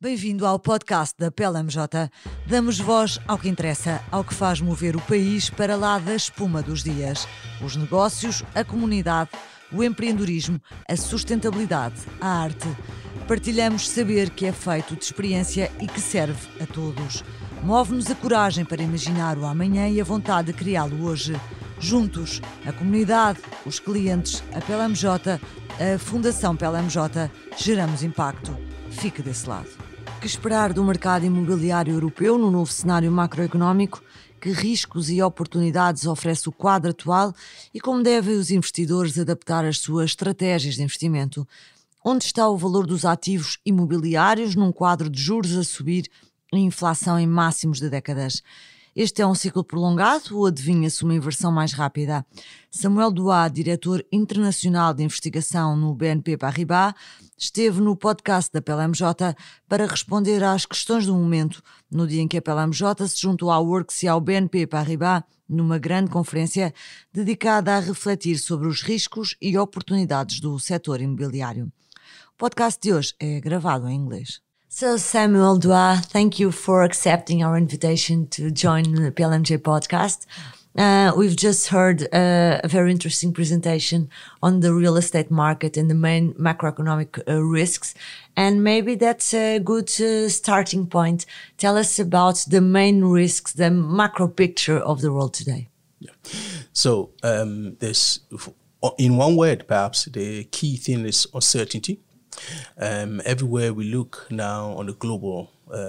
Bem-vindo ao podcast da PLMJ. Damos voz ao que interessa, ao que faz mover o país para lá da espuma dos dias. Os negócios, a comunidade, o empreendedorismo, a sustentabilidade, a arte. Partilhamos saber que é feito de experiência e que serve a todos. Move-nos a coragem para imaginar o amanhã e a vontade de criá-lo hoje. Juntos, a comunidade, os clientes, a PLMJ, a Fundação PLMJ, geramos impacto. Fique desse lado. Que esperar do mercado imobiliário europeu no novo cenário macroeconómico? Que riscos e oportunidades oferece o quadro atual e como devem os investidores adaptar as suas estratégias de investimento? Onde está o valor dos ativos imobiliários num quadro de juros a subir e inflação em máximos de décadas? Este é um ciclo prolongado ou adivinha-se uma inversão mais rápida? Samuel Duá, diretor internacional de investigação no BNP Paribas, esteve no podcast da PLMJ para responder às questões do momento, no dia em que a PLMJ se juntou à Works e ao BNP Paribas numa grande conferência dedicada a refletir sobre os riscos e oportunidades do setor imobiliário. O podcast de hoje é gravado em inglês. So Samuel Duá, thank you for accepting our invitation to join the PLMJ podcast. We've just heard a very interesting presentation on the real estate market and the main macroeconomic risks. And maybe that's a good starting point. Tell us about the main risks, the macro picture of the world today. Yeah. So there's, in one word, perhaps, the key thing is uncertainty. Everywhere we look now on the global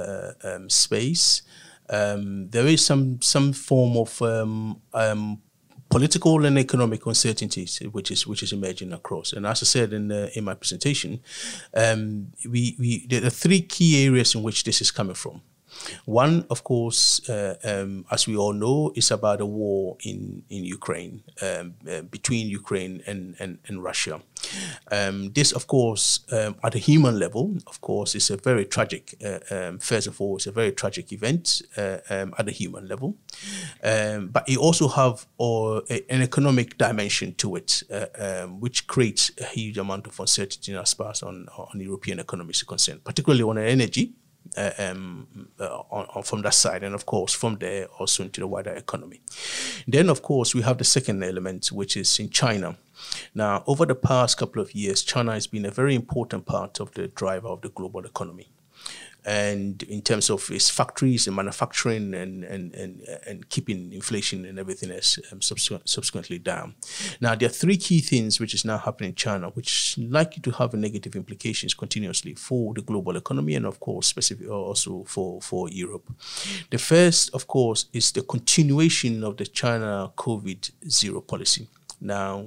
space, there is some form of political and economic uncertainties which is emerging across. And as I said in my presentation, there are three key areas in which this is coming from. One, of course, as we all know, is about a war in Ukraine, between Ukraine and Russia. This, of course, at a human level, of course, is a very tragic, first of all, it's a very tragic event at a human level. But it also have an economic dimension to it, which creates a huge amount of uncertainty as far as on European economies are concerned, particularly on energy. From that side, and of course from there also into the wider economy. Then of course we have the second element, which is in China. Now, over the past couple of years, China has been a very important part of the driver of the global economy. And in terms of its factories and manufacturing and keeping inflation and everything else subsequently down. Now, there are three key things which is now happening in China, which is likely to have negative implications continuously for the global economy and, of course, specifically also for Europe. The first, of course, is the continuation of the China COVID-0 policy. Now,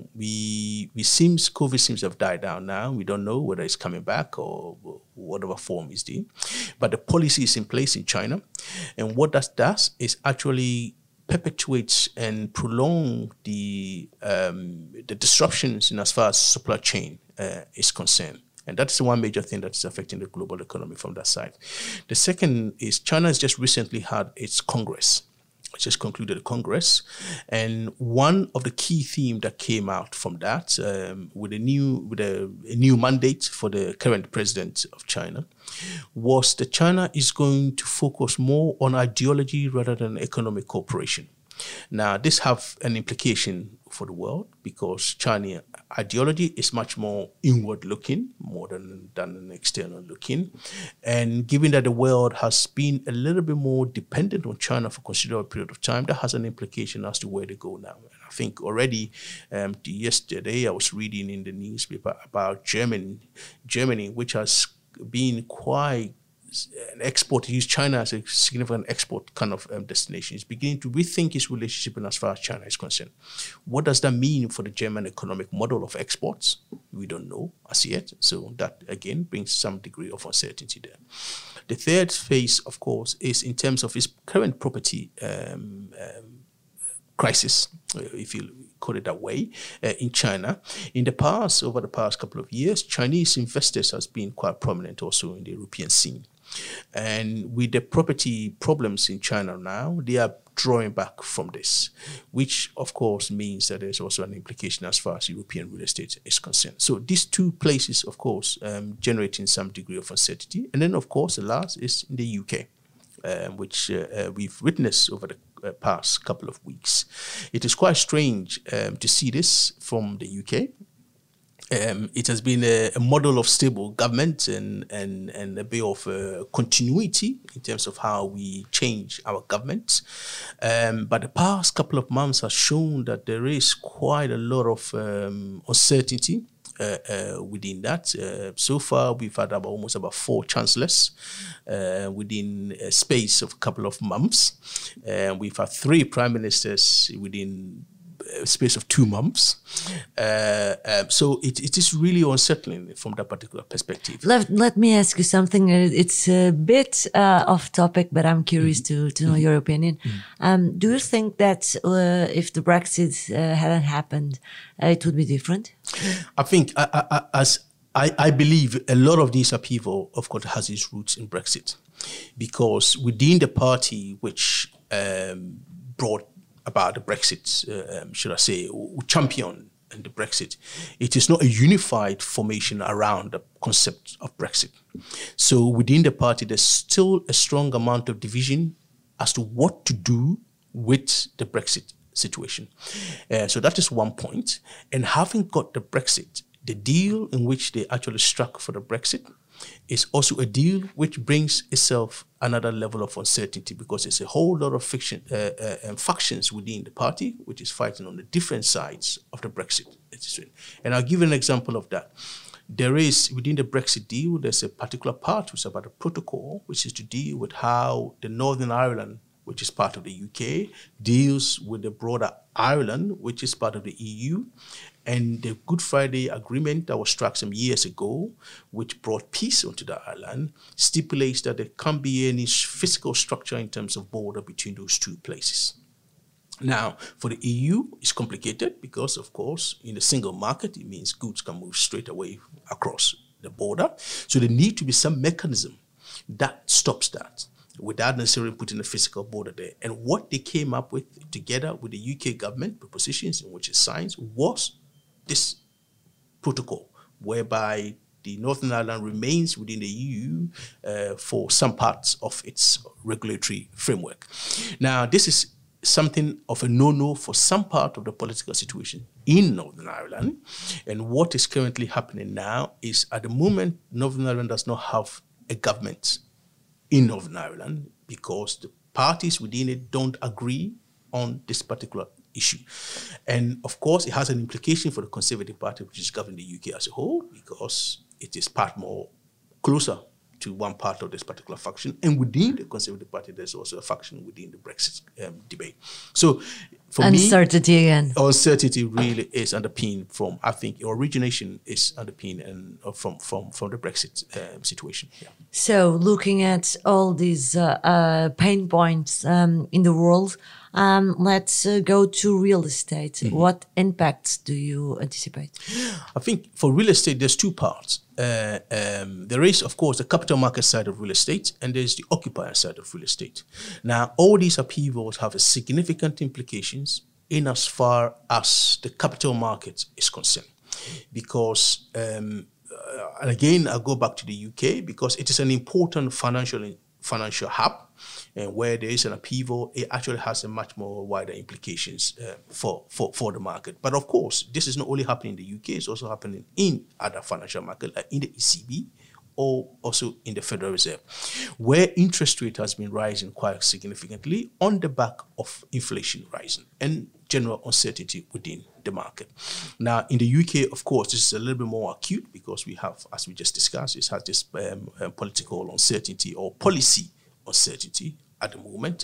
COVID seems to have died down now. We don't know whether it's coming back or whatever form it's in. But the policy is in place in China. And what that does is actually perpetuates and prolong the disruptions in as far as supply chain is concerned. And that's the one major thing that's affecting the global economy from that side. The second is China has just recently had its Congress. Just concluded the Congress, and one of the key themes that came out from that, with a new mandate for the current president of China, was that China is going to focus more on ideology rather than economic cooperation. Now, this have an implication for the world because China ideology is much more inward-looking, more than an external-looking. And given that the world has been a little bit more dependent on China for a considerable period of time, that has an implication as to where they go now. And I think already yesterday I was reading in the newspaper about Germany, which has been quite an export, use China as a significant export kind of destination. It's beginning to rethink its relationship in as far as China is concerned. What does that mean for the German economic model of exports? We don't know as yet. So that, again, brings some degree of uncertainty there. The third phase, of course, is in terms of its current property crisis, if you call it that way, in China. In the past, over the past couple of years, Chinese investors has been quite prominent also in the European scene. And with the property problems in China now, they are drawing back from this, which of course means that there's also an implication as far as European real estate is concerned. So these two places, of course, generating some degree of uncertainty. And then, of course, the last is in the UK, which we've witnessed over the past couple of weeks. It is quite strange to see this from the UK. It has been a model of stable government and a bit of continuity in terms of how we change our government. But the past couple of months has shown that there is quite a lot of uncertainty within that. So far, we've had almost about 4 chancellors within a space of a couple of months. We've had 3 prime ministers within space of 2 months. So it is really unsettling from that particular perspective. Let me ask you something. It's a bit off topic, but I'm curious to know your opinion. Do you think that if the Brexit hadn't happened, it would be different? I think I believe a lot of this upheaval, of course, has its roots in Brexit, because within the party which brought about the Brexit, should I say, who championed the Brexit, it is not a unified formation around the concept of Brexit. So within the party, there's still a strong amount of division as to what to do with the Brexit situation. So that is one point. And having got the Brexit, the deal in which they actually struck for the Brexit is also a deal which brings itself another level of uncertainty, because there's a whole lot of factions within the party which is fighting on the different sides of the Brexit. And I'll give you an example of that. There is, within the Brexit deal, there's a particular part which is about a protocol, which is to deal with how the Northern Ireland, which is part of the UK, deals with the broader Ireland, which is part of the EU. And the Good Friday Agreement that was struck some years ago, which brought peace onto the island, stipulates that there can't be any physical structure in terms of border between those two places. Now, for the EU, it's complicated because, of course, in the single market, it means goods can move straight away across the border. So there needs to be some mechanism that stops that, without necessarily putting a physical border there. And what they came up with, together with the UK government, propositions in which it signs, was this protocol, whereby the Northern Ireland remains within the EU for some parts of its regulatory framework. Now, this is something of a no-no for some part of the political situation in Northern Ireland. And what is currently happening now is, at the moment, Northern Ireland does not have a government in Northern Ireland because the parties within it don't agree on this particular issue. And of course, it has an implication for the Conservative Party, which is governing the UK as a whole, because it is part more closer to one part of this particular faction. And within the Conservative Party, there's also a faction within the Brexit debate. So for uncertainty again. Uncertainty really is underpinned from, I think, origination is underpinned and from the Brexit situation. Yeah. So looking at all these pain points in the world, let's go to real estate. Mm-hmm. What impacts do you anticipate? I think for real estate, there's 2 parts. There is, of course, the capital market side of real estate, and there's the occupier side of real estate. Now, all these upheavals have a significant implications in as far as the capital market is concerned. Because, and again, I'll go back to the UK, because it is an important financial hub, and where there is an upheaval, it actually has a much more wider implications for the market. But of course, this is not only happening in the UK, it's also happening in other financial markets, like in the ECB, or also in the Federal Reserve, where interest rate has been rising quite significantly on the back of inflation rising and general uncertainty within the market. Now, in the UK, of course, this is a little bit more acute, because we have, as we just discussed, it has this political uncertainty or policy uncertainty at the moment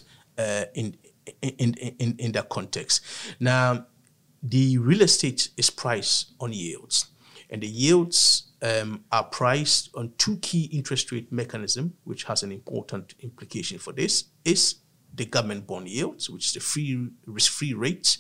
in that context. Now, the real estate is priced on yields, and the yields are priced on 2 key interest rate mechanisms, which has an important implication for this, is the government bond yields, which is the risk-free rate,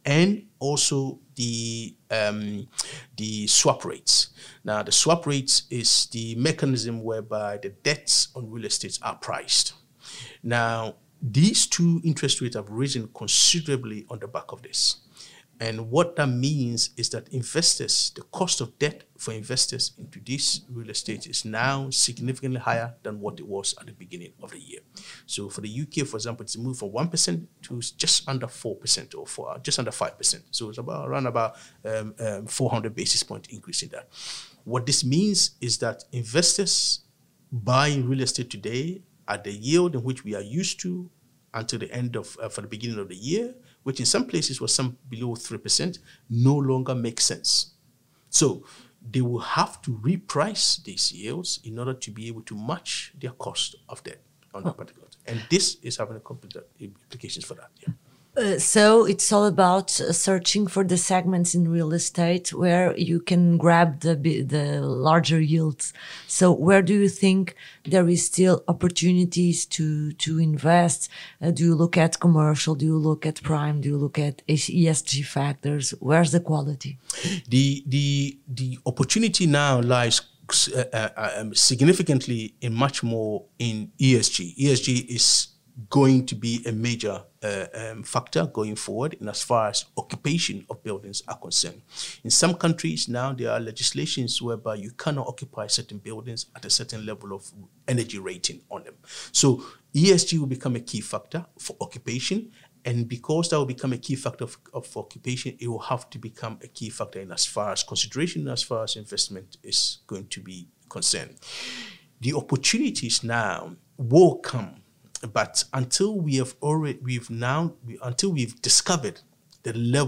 and also the swap rates. Now, the swap rates is the mechanism whereby the debts on real estate are priced. Now, these two interest rates have risen considerably on the back of this. And what that means is that investors, the cost of debt for investors into this real estate is now significantly higher than what it was at the beginning of the year. So for the UK, for example, it's moved from 1% to just under 4% or just under 5%. So it's around 400 basis point increase in that. What this means is that investors buying real estate today at the yield in which we are used to until the end of, for the beginning of the year, which in some places was some below 3%, no longer makes sense. So they will have to reprice these yields in order to be able to match their cost of debt on that particular. And this is having a complete implications for that. Yeah. So it's all about searching for the segments in real estate where you can grab the larger yields. So where do you think there is still opportunities to invest? Do you look at commercial? Do you look at prime? Do you look at ESG factors? Where's the quality? The opportunity now lies significantly in much more in ESG. ESG is going to be a major factor going forward in as far as occupation of buildings are concerned. In some countries now, there are legislations whereby you cannot occupy certain buildings at a certain level of energy rating on them. So ESG will become a key factor for occupation. And because that will become a key factor of occupation, it will have to become a key factor in as far as consideration, as far as investment is going to be concerned. The opportunities now will come. But until we've discovered the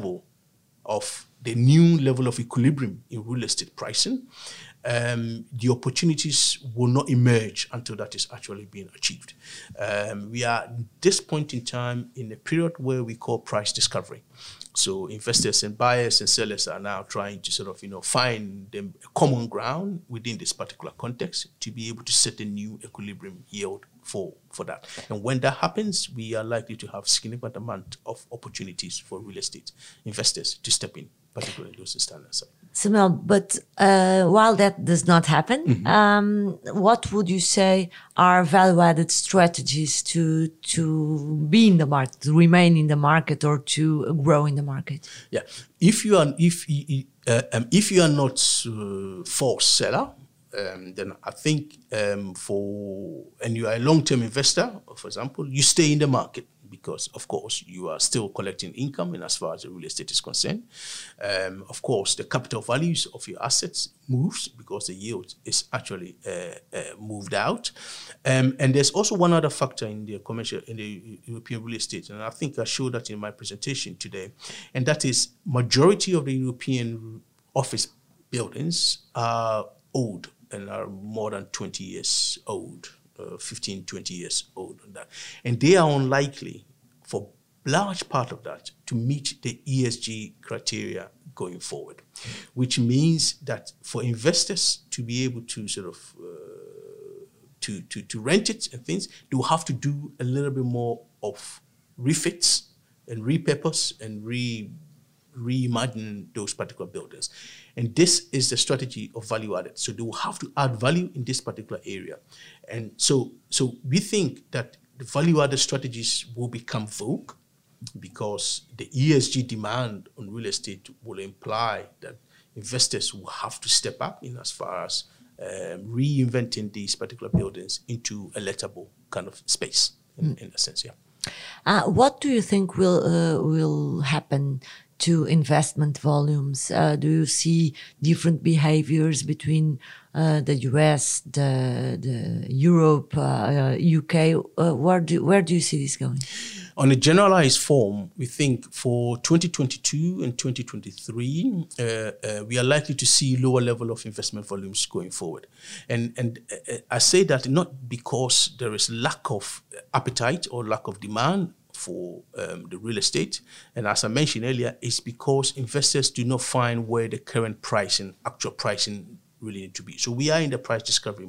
new level of equilibrium in real estate pricing, the opportunities will not emerge until that is actually being achieved. We are at this point in time in a period where we call price discovery. So investors and buyers and sellers are now trying to sort of, find a common ground within this particular context to be able to set a new equilibrium yield for that. And when that happens, we are likely to have significant amount of opportunities for real estate investors to step in, particularly in those standards. Samuel, but while that does not happen, what would you say are value-added strategies to be in the market, to remain in the market, or to grow in the market? Yeah, if you are not forced seller, then I think and you are a long-term investor, for example, you stay in the market because, of course, you are still collecting income in as far as the real estate is concerned. Of course, the capital values of your assets moves because the yield is actually moved out. And there's also one other factor in the European real estate, and I think I showed that in my presentation today, and that is majority of the European office buildings are old and are more than 20 years old, 15, 20 years old on that. And they are unlikely for large part of that to meet the ESG criteria going forward, which means that for investors to be able to sort of to rent it and things, they will have to do a little bit more of refits and repurpose and reimagine those particular buildings. And this is the strategy of value added. So they will have to add value in this particular area. And so we think that the value added strategies will become vogue because the ESG demand on real estate will imply that investors will have to step up in as far as reinventing these particular buildings into a lettable kind of space in a sense, yeah. What do you think will happen to investment volumes? Do you see different behaviors between the US, the Europe, UK? Where do you see this going? On a generalized form, we think for 2022 and 2023, we are likely to see lower level of investment volumes going forward. And I say that not because there is lack of appetite or lack of demand for the real estate. And as I mentioned earlier, it's because investors do not find where the current pricing, actual pricing really need to be. So we are in the price discovery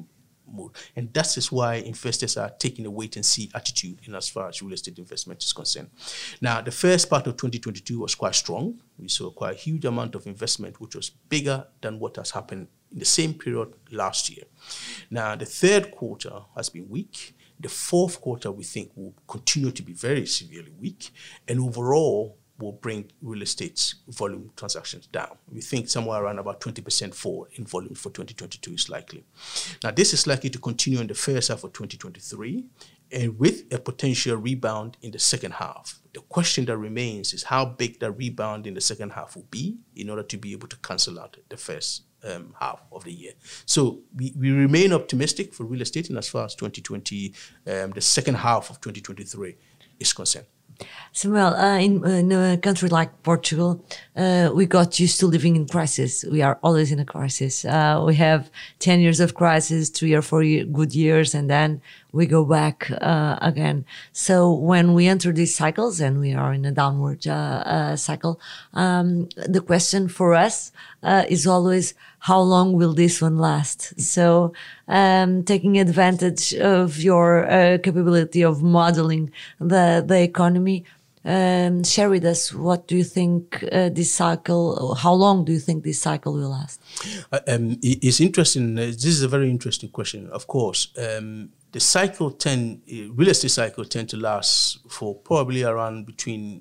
mode. And that is why investors are taking a wait-and-see attitude in as far as real estate investment is concerned. Now, the first part of 2022 was quite strong. We saw quite a huge amount of investment, which was bigger than what has happened in the same period last year. Now, the third quarter has been weak. The fourth quarter, we think, will continue to be very severely weak. And overall, will bring real estate volume transactions down. We think somewhere around about 20% fall in volume for 2022 is likely. Now, this is likely to continue in the first half of 2023, and with a potential rebound in the second half. The question that remains is how big the rebound in the second half will be in order to be able to cancel out the first half of the year. So we remain optimistic for real estate in as far as 2020, the second half of 2023 is concerned. Samuel, in a country like Portugal, we got used to living in crisis. We are always in a crisis. We have 10 years of crisis, 3 or 4 good years, and then we go back again. So when we enter these cycles, and we are in a downward cycle, the question for us is always, how long will this one last? So taking advantage of your capability of modeling the economy, share with us, what do you think this cycle, how long do you think this cycle will last? It's interesting. This is a very interesting question. Of course, the cycle real estate cycle tend to last for probably around between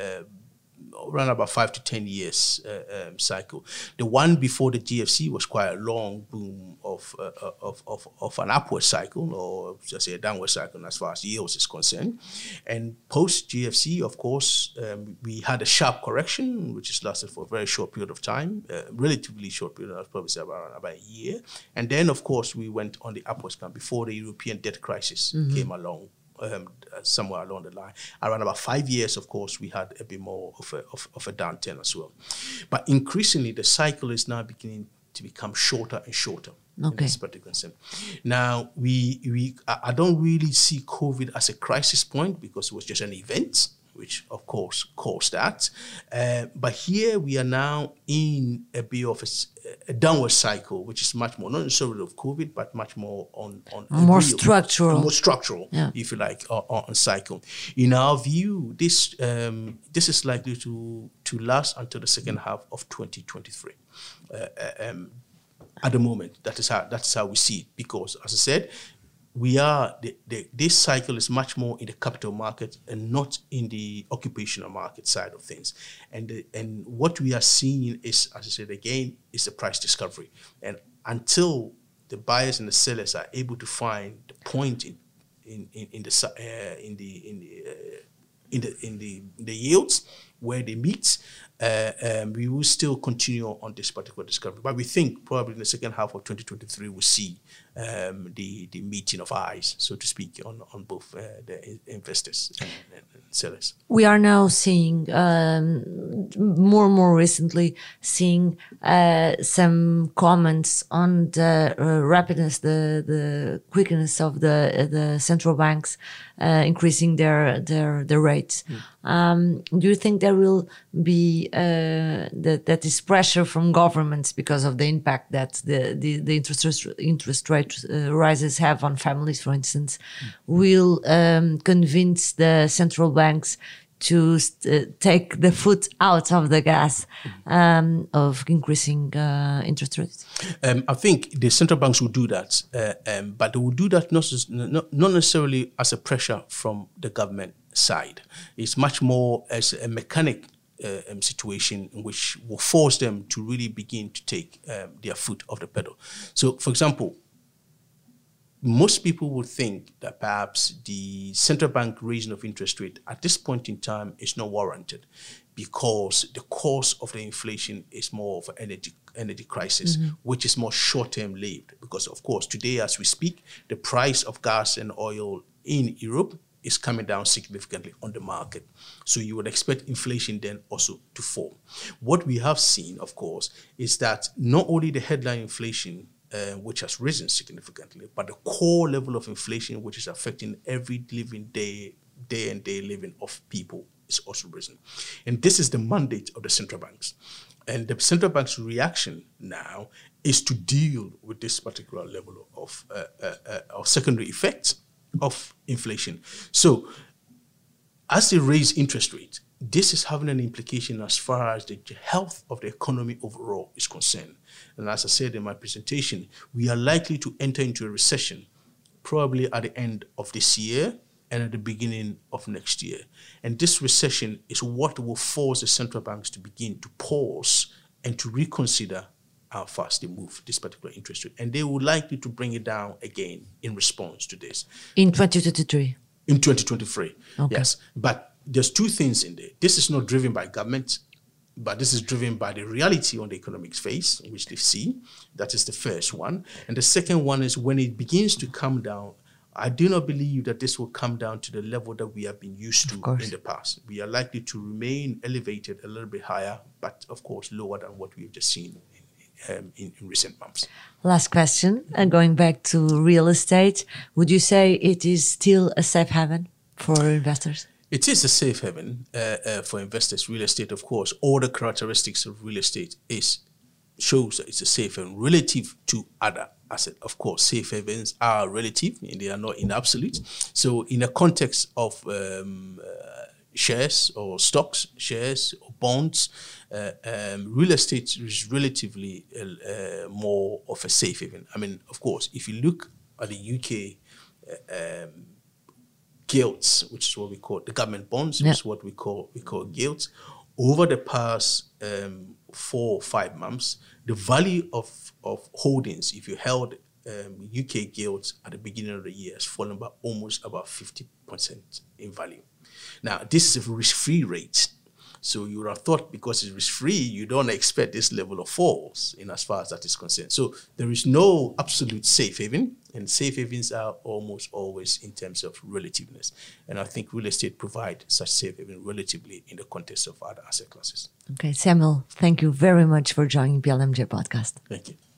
around about 5 to 10 years cycle. The one before the GFC was quite a long boom of an upward cycle, or just say a downward cycle as far as yields is concerned. And post GFC, of course, we had a sharp correction, which has lasted for a very short period of time, relatively short period, I'd probably say about a year. And then, of course, we went on the upward scan before the European debt crisis came along. Somewhere along the line, around about 5 years, of course, we had a bit more of a downturn as well. But increasingly, the cycle is now beginning to become shorter and shorter. In this particular sense. Now, I don't really see COVID as a crisis point because it was just an event, which of course caused that. But here we are now in a bit of a downward cycle, which is much more, not necessarily of COVID, but much more on more structural, if you like, on cycle. In our view, this is likely to last until the second half of 2023. At the moment, that's how we see it, because, as I said, this cycle is much more in the capital market and not in the occupational market side of things. And what we are seeing is, as I said again, is the price discovery. And until the buyers and the sellers are able to find the point in the yields where they meet, we will still continue on this particular discovery. But we think probably in the second half of 2023 we'll see the meeting of eyes, so to speak, on both the investors and sellers. We are now seeing more and more recently seeing some comments on the rapidness, the quickness of the central banks increasing their rates. Do you think there will be that is pressure from governments because of the impact that the interest rate rises have on families, for instance, will convince the central banks to take the foot out of the gas of increasing interest rates? I think the central banks will do that, but they will do that not necessarily as a pressure from the government side. It's much more as a mechanic situation in which will force them to really begin to take their foot off the pedal. So, for example, most people would think that perhaps the central bank raising of interest rate at this point in time is not warranted because the cause of the inflation is more of an energy crisis, which is more short-term lived. Because, of course, today as we speak, the price of gas and oil in Europe is coming down significantly on the market. So you would expect inflation then also to fall. What we have seen, of course, is that not only the headline inflation, which has risen significantly, but the core level of inflation, which is affecting every living day and day living of people, is also risen. And this is the mandate of the central banks. And the central bank's reaction now is to deal with this particular level of secondary effects of inflation. So as they raise interest rates, this is having an implication as far as the health of the economy overall is concerned. And as I said in my presentation, we are likely to enter into a recession probably at the end of this year and at the beginning of next year. And this recession is what will force the central banks to begin to pause and to reconsider how fast they move this particular interest rate. And they will likely to bring it down again in response to this. In 2023? In 2023, okay. Yes. But there's two things in there. This is not driven by government, but this is driven by the reality on the economic phase, which they see. That is the first one. And the second one is when it begins to come down, I do not believe that this will come down to the level that we have been used to in the past. We are likely to remain elevated a little bit higher, but of course lower than what we've just seen in recent months. Last question, going back to real estate, would you say it is still a safe haven for investors? It is a safe haven for investors. Real estate, of course, all the characteristics of real estate shows that it's a safe haven relative to other assets. Of course, safe havens are relative and they are not in absolute. So in a context of shares or stocks, shares or bonds, real estate is relatively more of a safe haven. I mean, of course, if you look at the UK gilts, which is what we call the government bonds, which is what we call gilts, over the past 4 or 5 months, the value of holdings, if you held UK gilts at the beginning of the year, has fallen by almost about 50% in value. Now, this is a risk-free rate. So you would have thought because it's risk-free, you don't expect this level of falls in as far as that is concerned. So there is no absolute safe haven, and safe havens are almost always in terms of relativeness. And I think real estate provides such safe haven relatively in the context of other asset classes. Okay, Samuel, thank you very much for joining PLMJ Podcast. Thank you.